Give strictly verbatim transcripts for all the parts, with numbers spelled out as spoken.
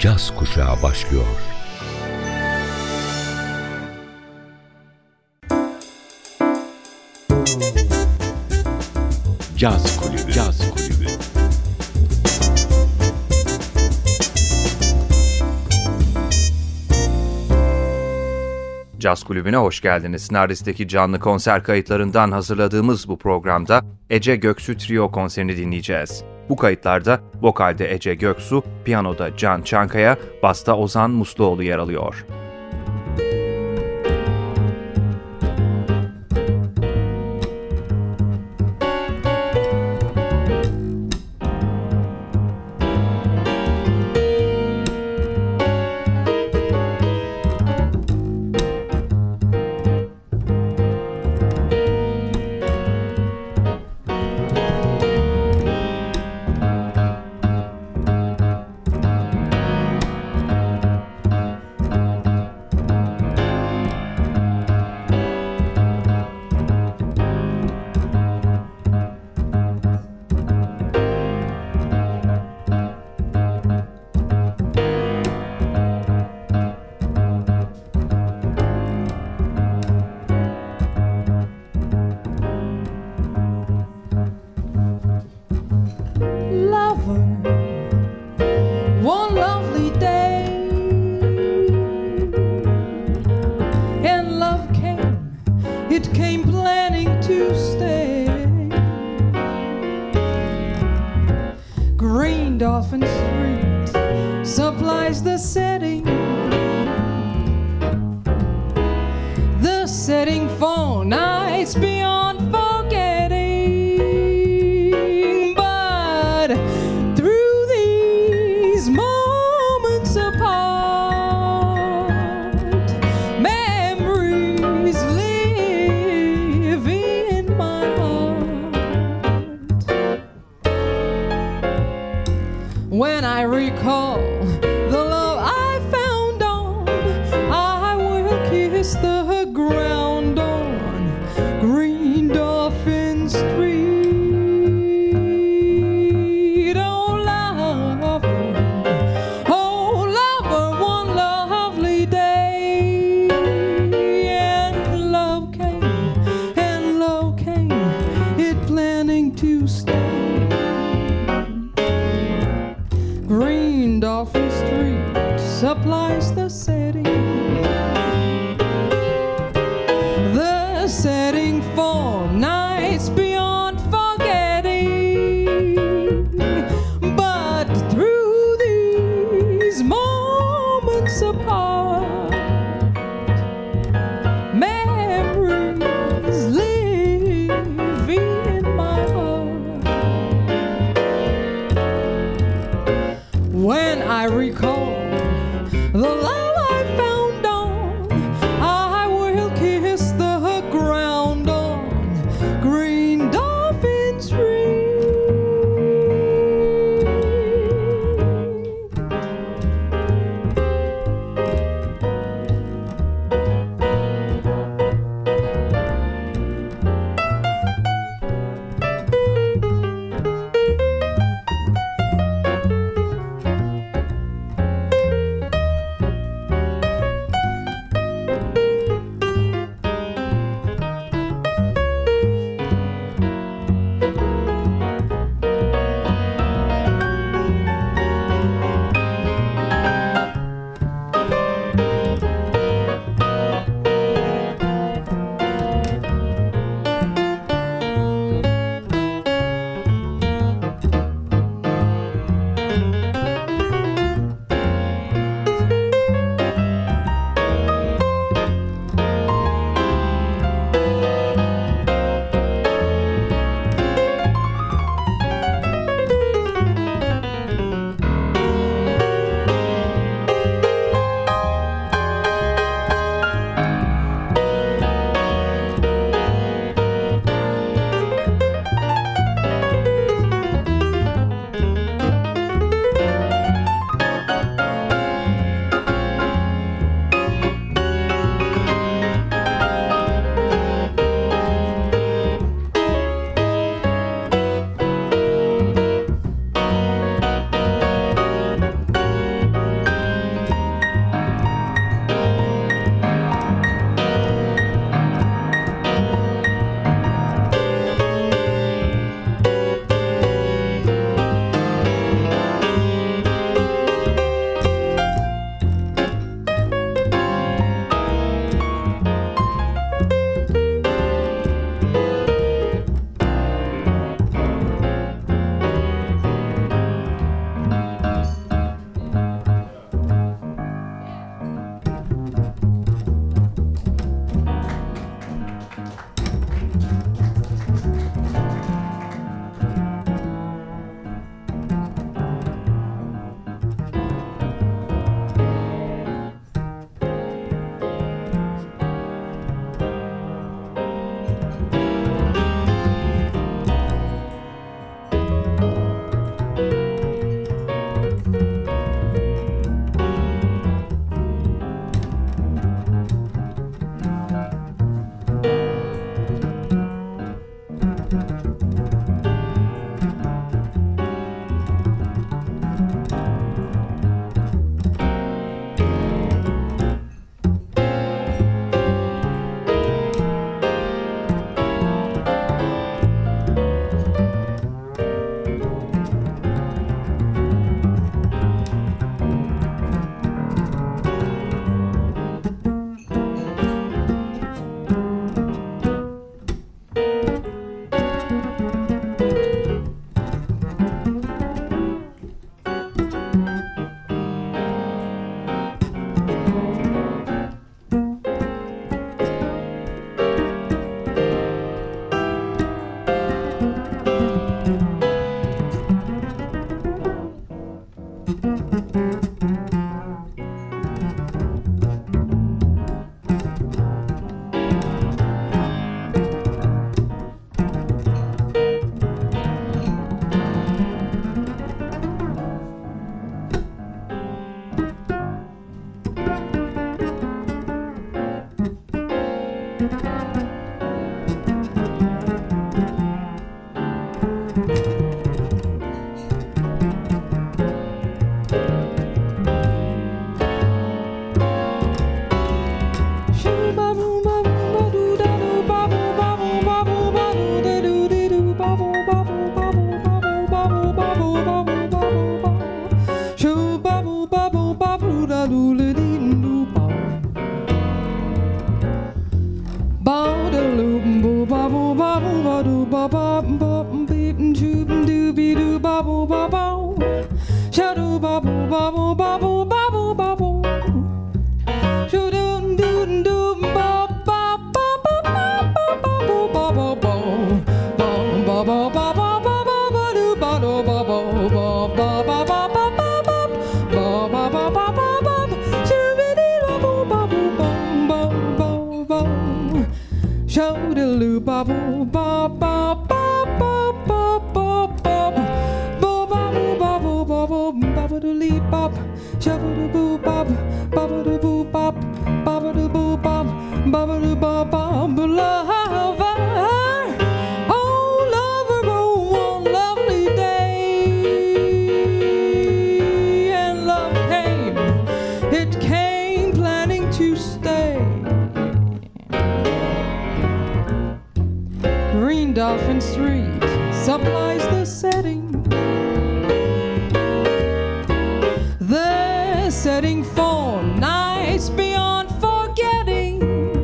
caz kuşağı başlıyor. Caz Kulübü. Caz Kulübü. Caz Kulübü'ne hoş geldiniz. Nardis'teki canlı konser kayıtlarından hazırladığımız bu programda Ece Göksu Trio konserini dinleyeceğiz. Bu kayıtlarda vokalde Ece Göksu, piyanoda Can Çankaya, basta Ozan Musluoğlu yer alıyor. Dolphin Street supplies the setting, the setting for nights beyond forgetting. But through these moments apart, memories live in my heart. When I recall the love I found on, I will kiss the ground on Green Dolphin Street. Oh lover, oh lover, one lovely day, and love came, and love came, it planning to stay. Green Dolphin Street supplies the setting, the setting for nights beyond forgetting. But through these moments apart, memories live in my heart. When I recall the love I found on, I will kiss the ground on Green Dolphin Street. bubble, bubble, bubble, bubble, bubble. Shoo doo doo doo, bub, bub, bub, bub, bub, bubble, bubble, bubble, bubble, bubble, bubble, doo, bubble, bubble, bubble, bubble, bubble, bubble, bubble, bubble, bubble, shoo dee bubble, bubble, bubble, bubble, bubble, shoo doo bubble, bubble, bubble, bubble, bubble, bubble, bubble doo lee bop, shabba doo boo bop, bubble doo boo bop, bubble doo boo bop, bubble doo bop, bop, lover, oh lover, oh one lovely day, and love came, it came planning to stay. Green Dolphin Street supplies the setting. The setting for nights beyond forgetting.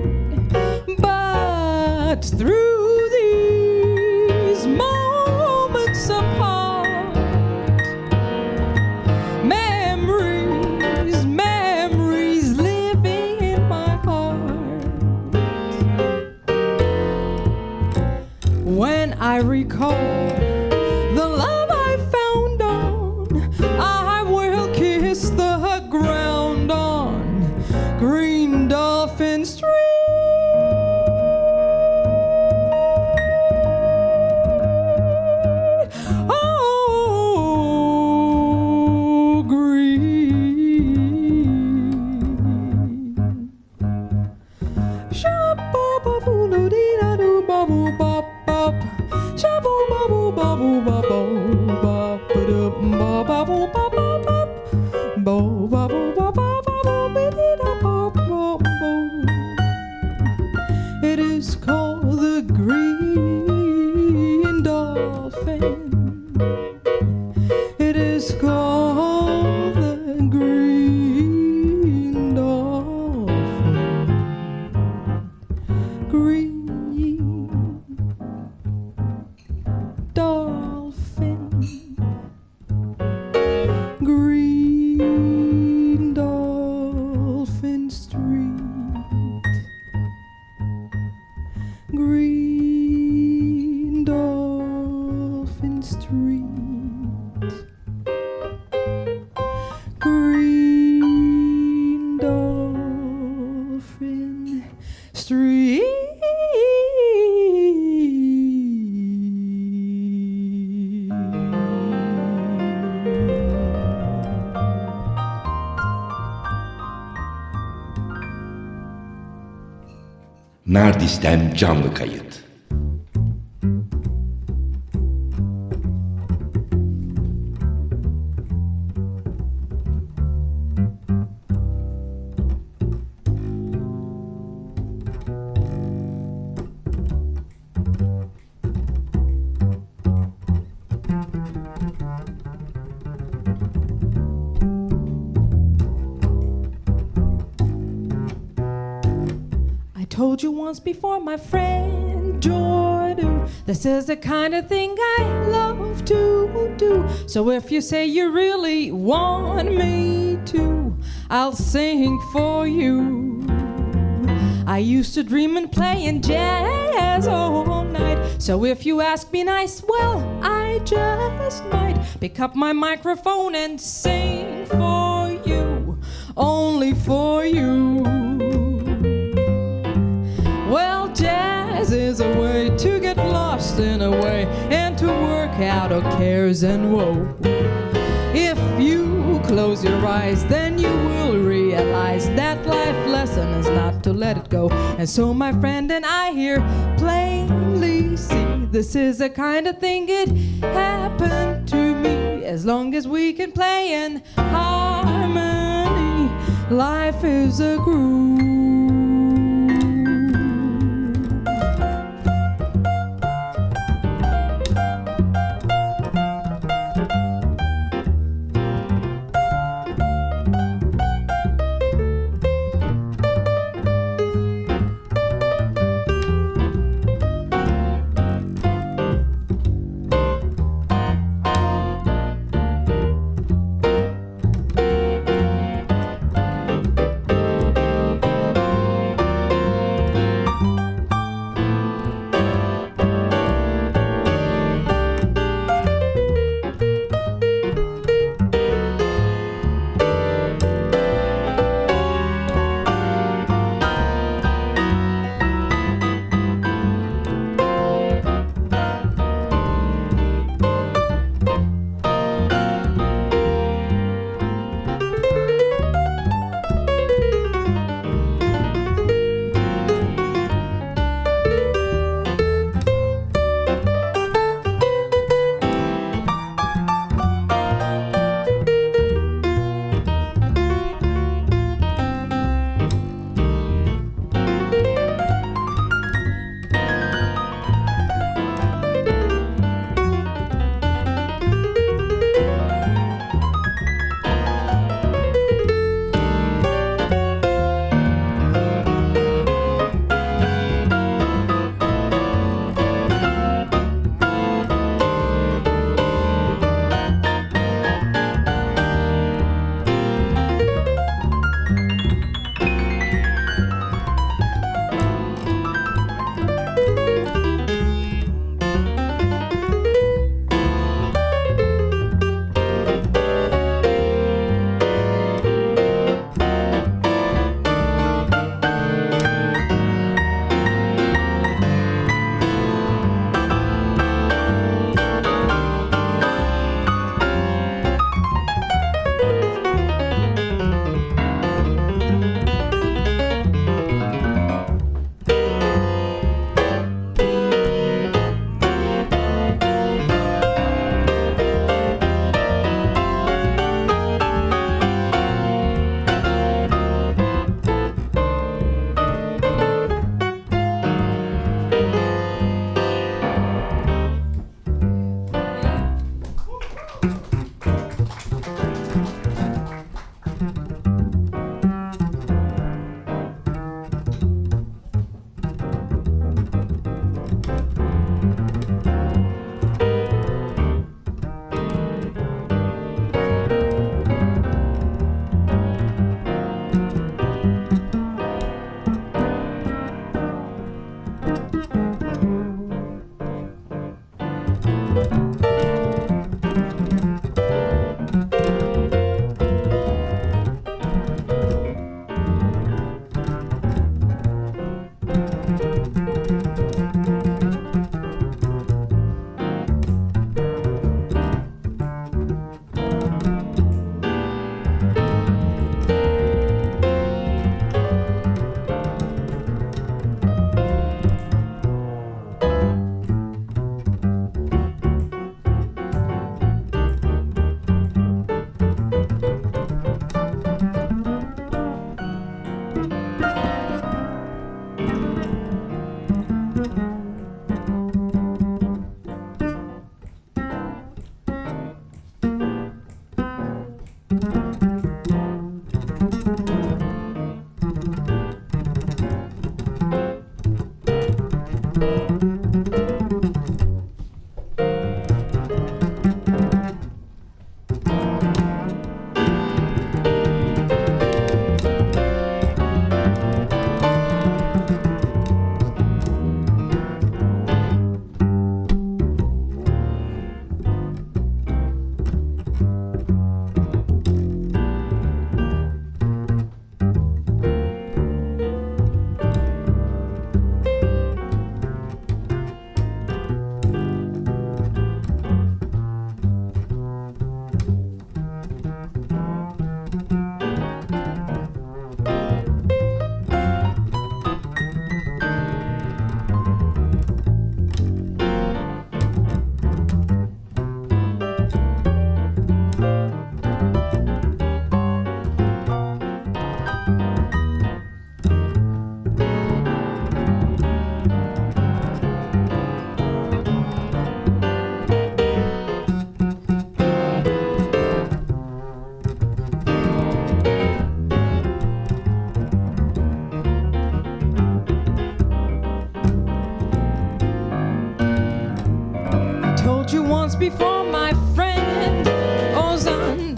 But through these moments apart, memories, memories living in my heart. When I recall the love I found on, I will kiss the ground on Green Dolphin Street. Oh, green. Shabba-ba-boo-doo-dee-da-doo, bubble-bop, bop. It is called the Green Dolphin. It is called the Green Dolphin. Green Dolphin, Green Dolphin Street, Green Dolphin Street, Green Dolphin Street. Nardis'ten canlı kayıt. Told you once before, my friend Jordan, this is the kind of thing I love to do. So if you say you really want me to, I'll sing for you. I used to dream and play in jazz all night. So if you ask me nice, well, I just might pick up my microphone and sing for you, only for you. Well, jazz is a way to get lost in a way and to work out our cares and woe. If you close your eyes, then you will realize that life lesson is not to let it go. And so my friend and I here plainly see this is the kind of thing it happened to me. As long as we can play in harmony, life is a groove.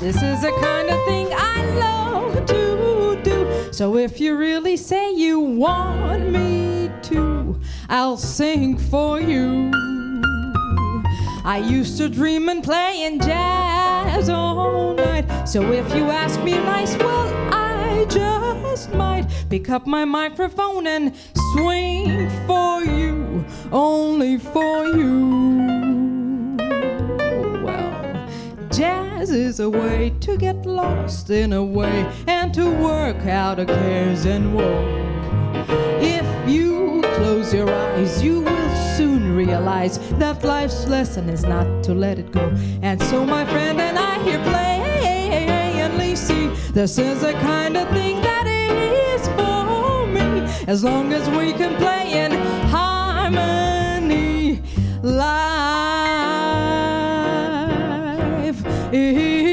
This is the kind of thing I love to do. So if you really say you want me to, I'll sing for you. I used to dream and play in jazz all night. So if you ask me nice, well, I just might pick up my microphone and swing for you, only for you. Well, jazz is a way to get lost in a way and to work out our cares and woe. If you close your eyes, you will soon realize that life's lesson is not to let it go. And so my friend and I here plainly see this is the kind of thing that is for me, as long as we can play in harmony. Life is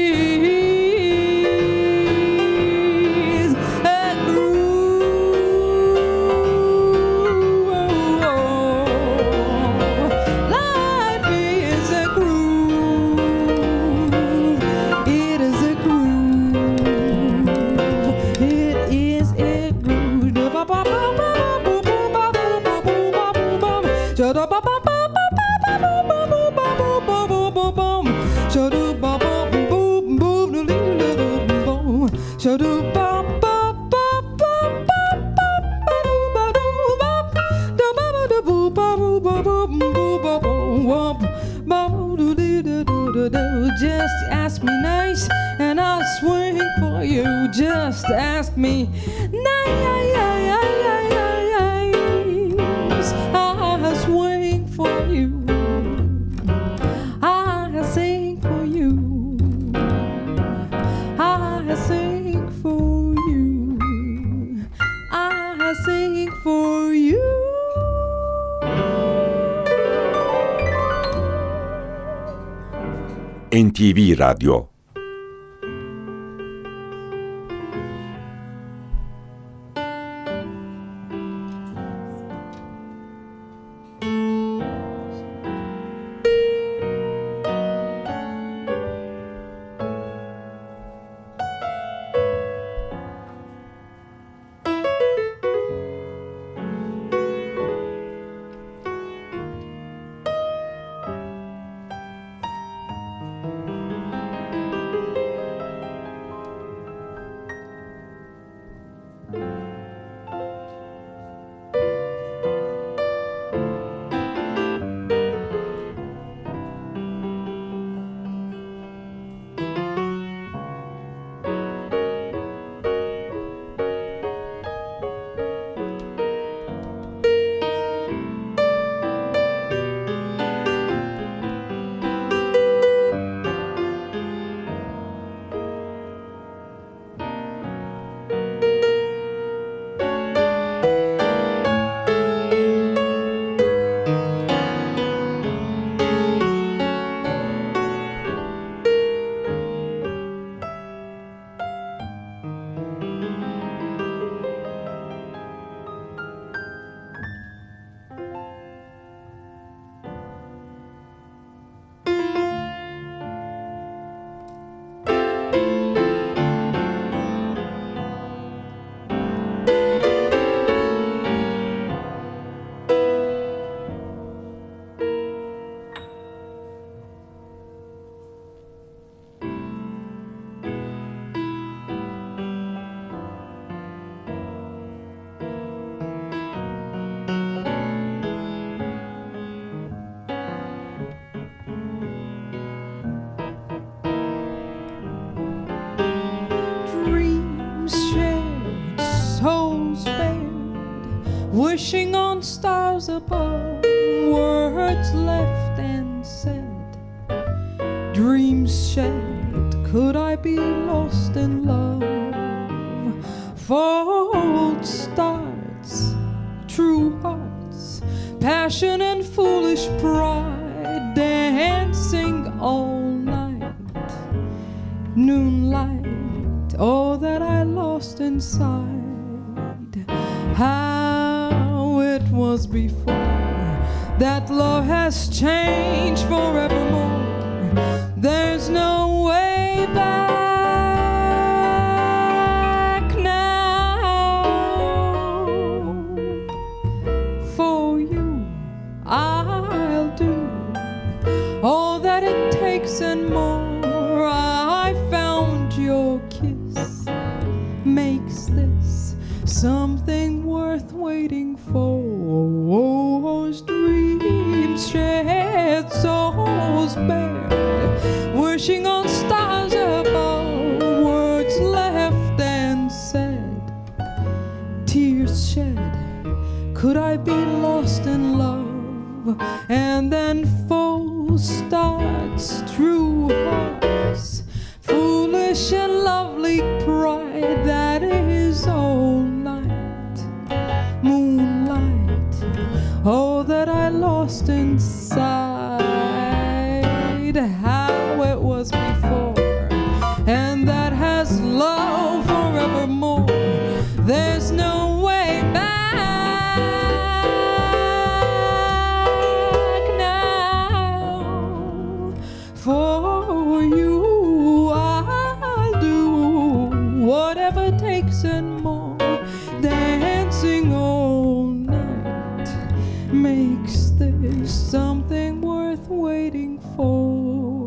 just ask me nice and I'll swing for you. Just ask me nice, I'll swing for you. I'll sing for you. I'll sing for you. I'll sing for you. N T V Radyo. Wishing on stars above, words left unsaid, dreams shared, could I be lost in love? False starts, true hearts, passion and foolish pride, dancing all night, moonlight, all that I lost inside. How it was before, that love has changed forevermore. There's no way back. foolish and lovely pride that is all night, moonlight, oh, that I lost inside. How it was before, and that has love forevermore. There's no way back now. For you I'll do whatever it takes and more. Dancing all night makes this something worth waiting for.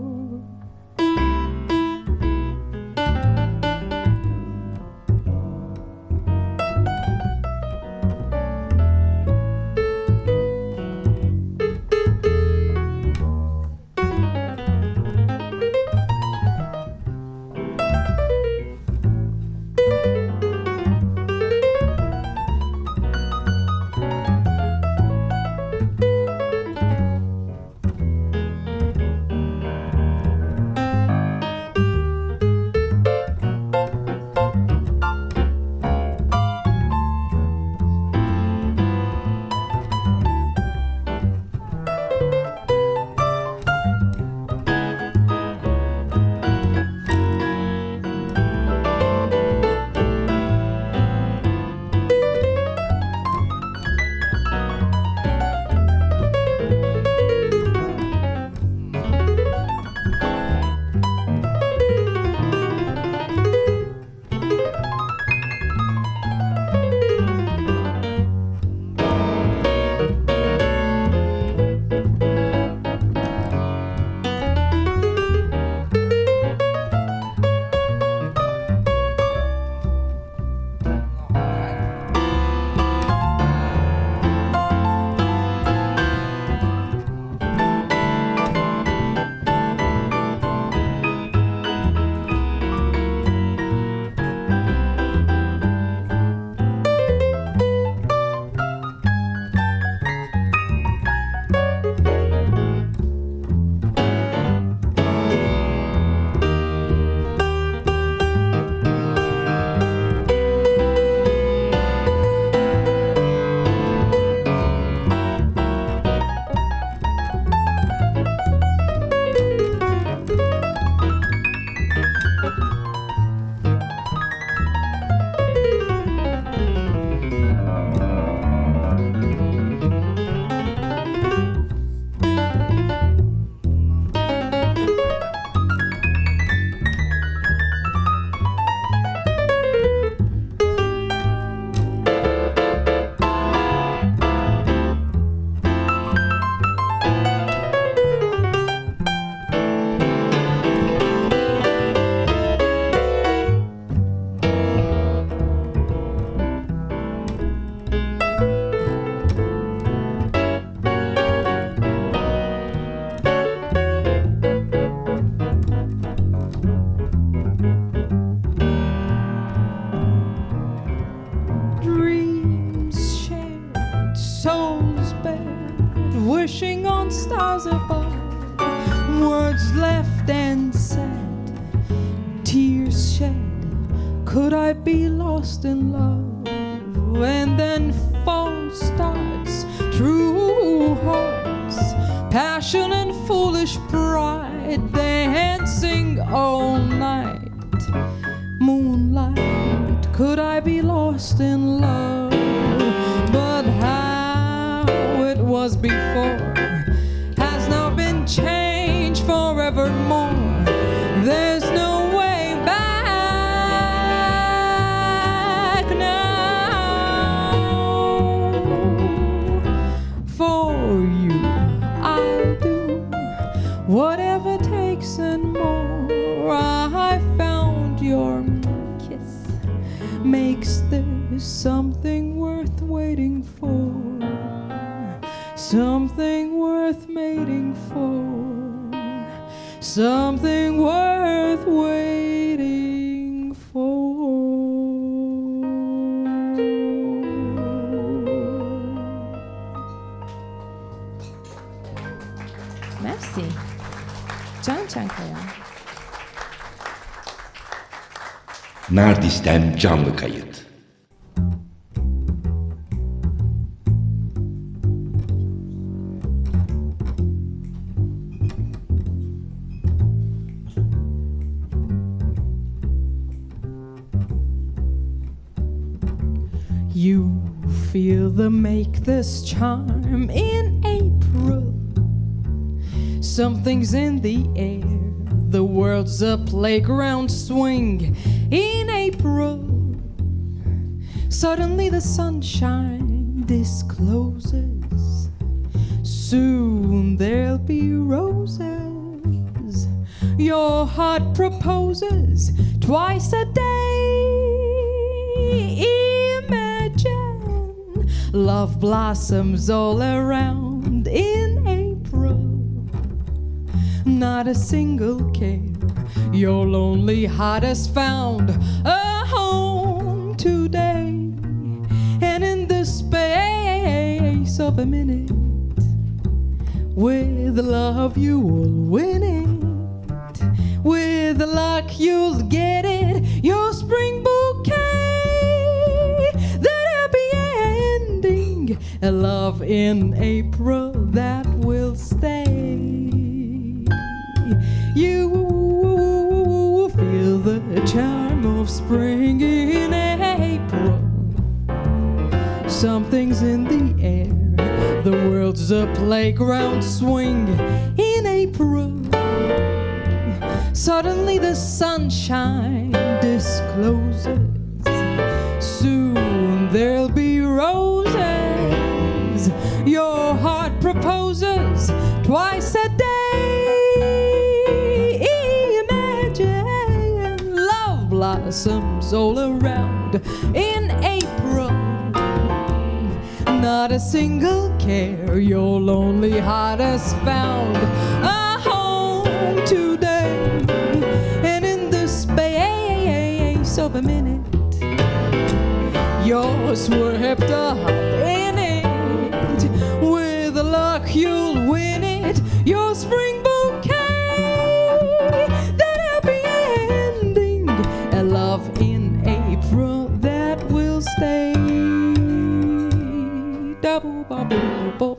Wishing on stars above, words left and said, tears shed. Could I be lost in love? And then false starts, true hearts, passion and foolish pride, dancing all night, moonlight. Could I be lost in love? But how it was before has now been changed forevermore. There's no way back now. For you I'll do whatever takes and more. I found your kiss makes there something worth waiting for. Something worth mating for. Something worth waiting for. Merci. Can Çankaya. Nardis'ten canlı kayıt. You feel the make this charm in April. Something's in the air. The world's a playground swing in April. Suddenly the sunshine discloses. Soon there'll be roses. Your heart proposes twice a day. Imagine love blossoms all around in April. Not a single care. Your lonely heart has found a home today. And in the space of a minute, with love you will win it. With luck you'll get it. Your spring bouquet. That happy ending. A love in April that will stay. You feel the charm of spring in April. Something's in the air. The world's a playground swing in April. Suddenly the sunshine discloses. Soon there'll be roses. Your heart proposes twice a day. Blossoms all around in April. Not a single care. Your lonely heart has found a home today. And in the space of a minute, you're swept up in it. With luck you'll win it. Your spring bouquet. Love in April that will stay. Double bubble bubble.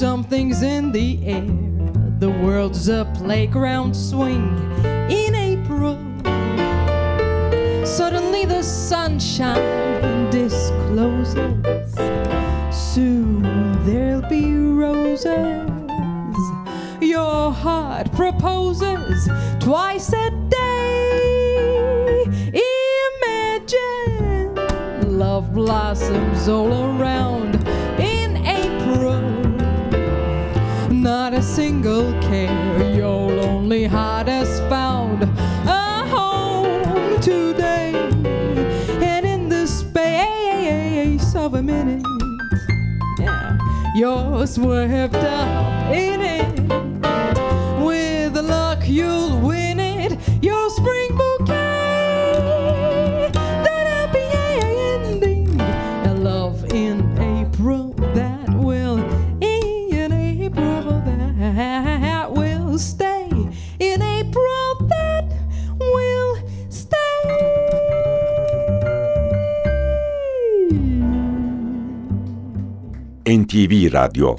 Something's in the air. The world's a playground swing in April. Suddenly the sunshine discloses. Soon there'll be roses. Your heart proposes twice a day. Imagine love blossoms all around in April. Not a single care. Your lonely heart has found a home today. And in the space of a minute, yeah, you're swept up in it. With luck you'll win it, your spring bouquet. That happy ending, a love in April that will, in April that will stay, in April that will stay. N T V Radyo.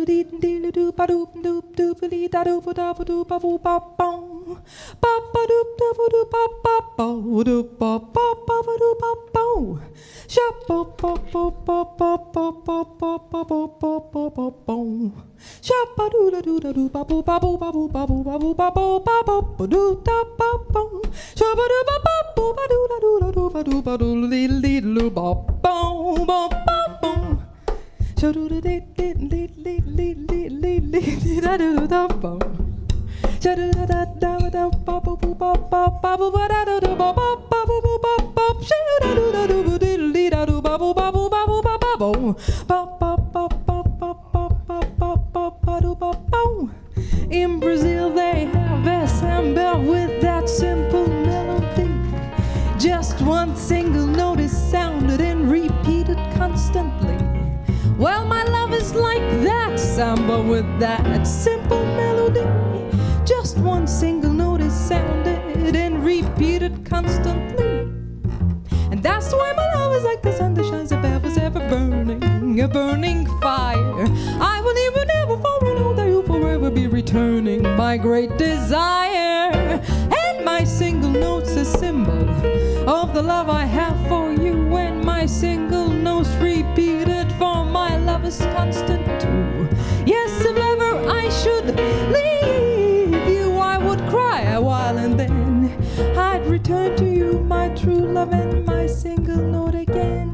In Brazil they have a samba with that simple melody. Just one single note is sounded and repeated constantly. Well, my love is like that samba with that simple melody. Just one single note is sounded and repeated constantly. And that's why my love is like the sun that shines above us, ever burning, a burning fire. I will even never fall, I know that you'll forever be returning, my great desire. And my single note's a symbol of the love I have for you. And my single note's repeated, for my love is constant too. Yes, if ever I should leave you, I would cry a while and then I'd return to you, my true love, and my single note again.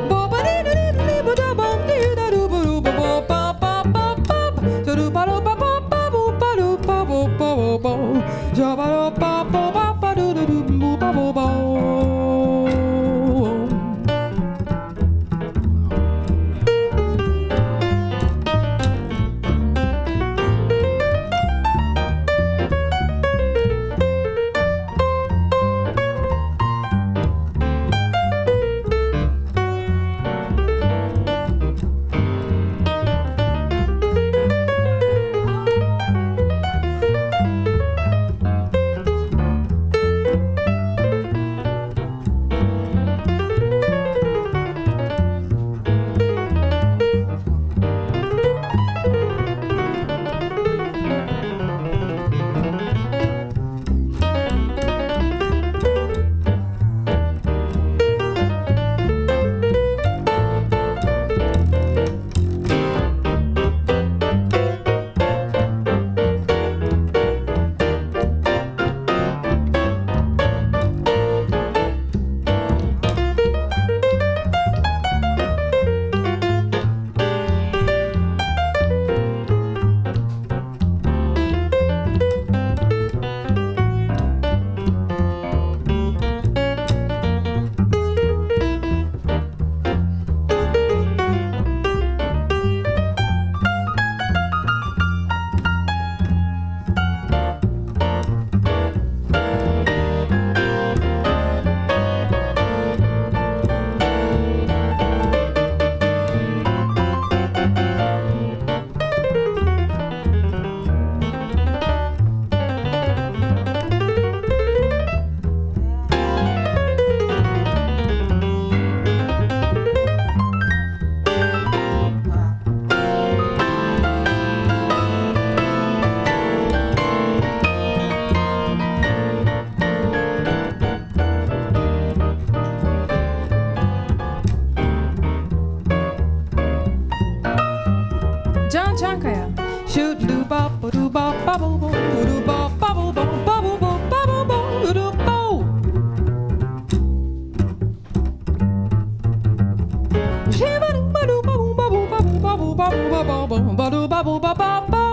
Çankaya. Shoot do bop do bop bubble bop do bop bubble bop bubble bop bubble bop do bop. Shiba do ba do bubble bubble bubble bubble bubble bubble bubble bubble bubble bubble.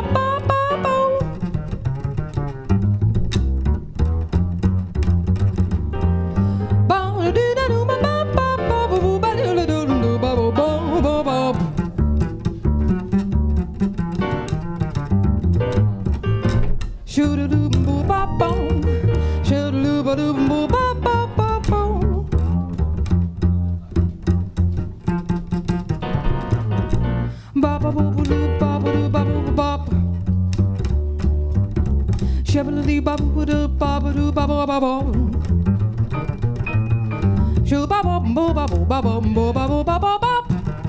Shabba-dee bop-a-doo bop-a-doo bop-a-bop. Shoo-bop-bop-bop-bop-bop-bop-bop-bop.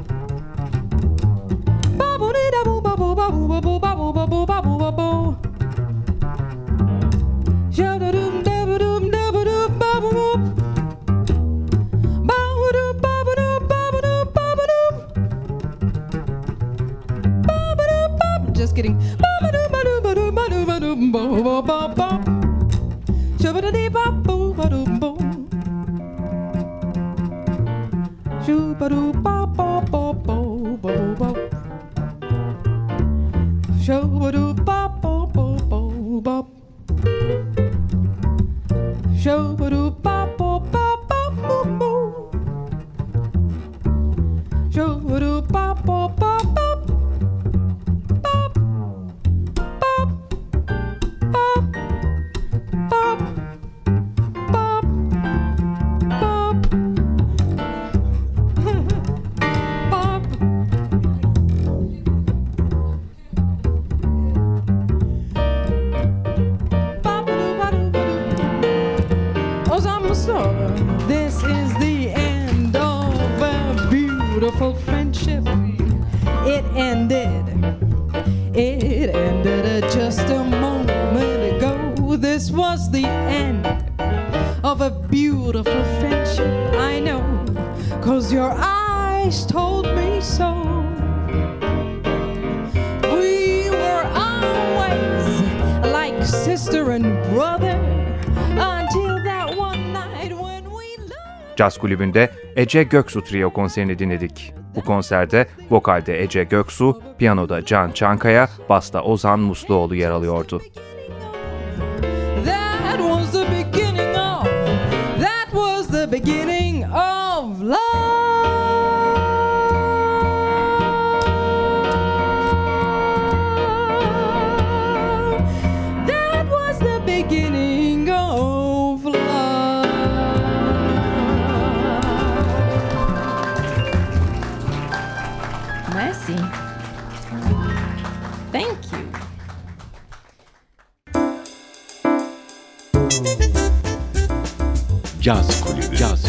Bop-a-dee-da-boo-bop-a-bop-a-bop-a-bop-a-bop-a-bop. Shabba-doom-dabba-doom-dabba-doom-bop-a-bop. Bop-a-doo-bop-a-doo-bop-a-doo-bop-a-doo. Bop-a-doo-bop. Just kidding. Bop-a-doo-ba-doo-ba-doo-ba-doo-ba-doo. Bop bop bop, shabba dee bop boo ba doo boom, shabba doo bop bop bop bop bop bop, shabba doo bop bop bop bop bop, shabba doo bop bop bop bop bop bop, shabba doo bop bop bop bop. This is the end of a beautiful friendship. It ended, it ended just a moment ago. This was the end of a beautiful friendship. I know, 'cause your eyes told me so. We were always like sister and brother until that one night when we loved. Caz Kulübü'nde Ece Göksu Trio konserini dinledik. Bu konserde vokalde Ece Göksu, piyanoda Can Çankaya, basta Ozan Musluoğlu yer alıyordu. That was the beginning of, that was the beginning of love. That was the beginning of love. Merci. Thank you. Caz Kulübü. Caz